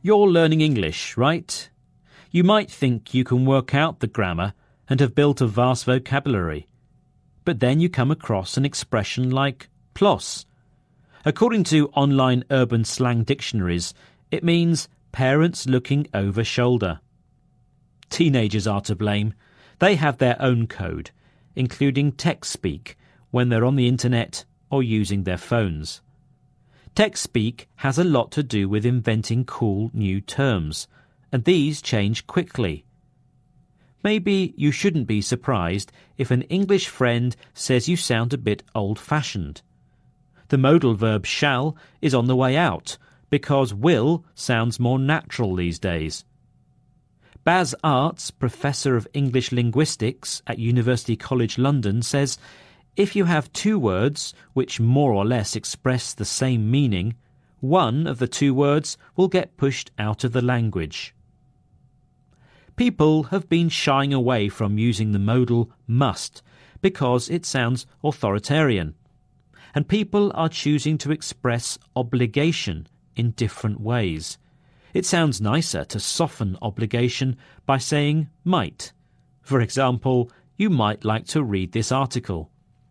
You're learning English, right? You might think you can work out the grammar and have built a vast vocabulary. But then you come across an expression like ploss. According to online urban slang dictionaries, it means parents looking over shoulder. Teenagers are to blame. They have their own code, including text speak when they're on the internet or using their phones. Text speak has a lot to do with inventing cool new terms, and these change quickly. Maybe you shouldn't be surprised if an English friend says you sound a bit old-fashioned. The modal verb shall is on the way out because will sounds more natural these days. Baz Arts, Professor of English Linguistics at University College London, says if you have two words which more or less express the same meaning, one of the two words will get pushed out of the language. People have been shying away from using the modal must because it sounds authoritarian, and people are choosing to express obligation in different ways. It sounds nicer to soften obligation by saying might. For example, you might like to read this article.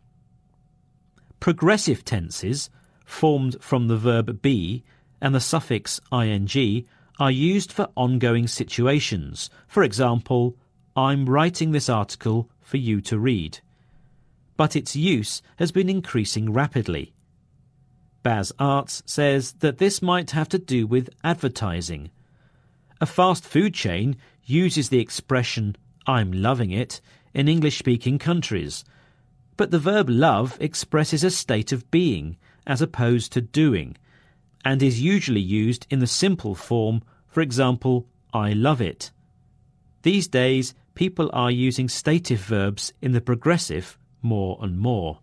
Progressive tenses, formed from the verb be and the suffix ing, are used for ongoing situations. For example, I'm writing this article for you to read. But its use has been increasing rapidly. Baz Arts says that this might have to do with advertising. A fast food chain uses the expression I'm loving it in English-speaking countries, but the verb love expresses a state of being as opposed to doing, and is usually used in the simple form, for example, I love it. These days, people are using stative verbs in the progressive more and more.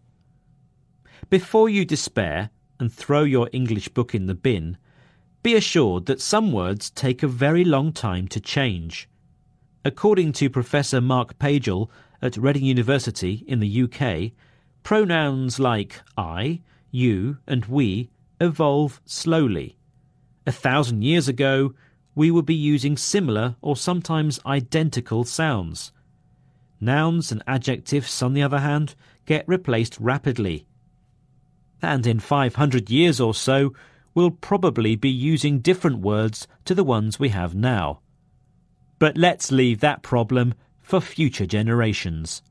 Before you despair and throw your English book in the bin, be assured that some words take a very long time to change. According to Professor Mark Pagel at Reading University in the UK, pronouns like I, you and we evolve slowly. 1,000 years ago, we would be using similar or sometimes identical sounds. Nouns and adjectives, on the other hand, get replaced rapidly. And in 500 years or so, we'll probably be using different words to the ones we have now. But let's leave that problem for future generations.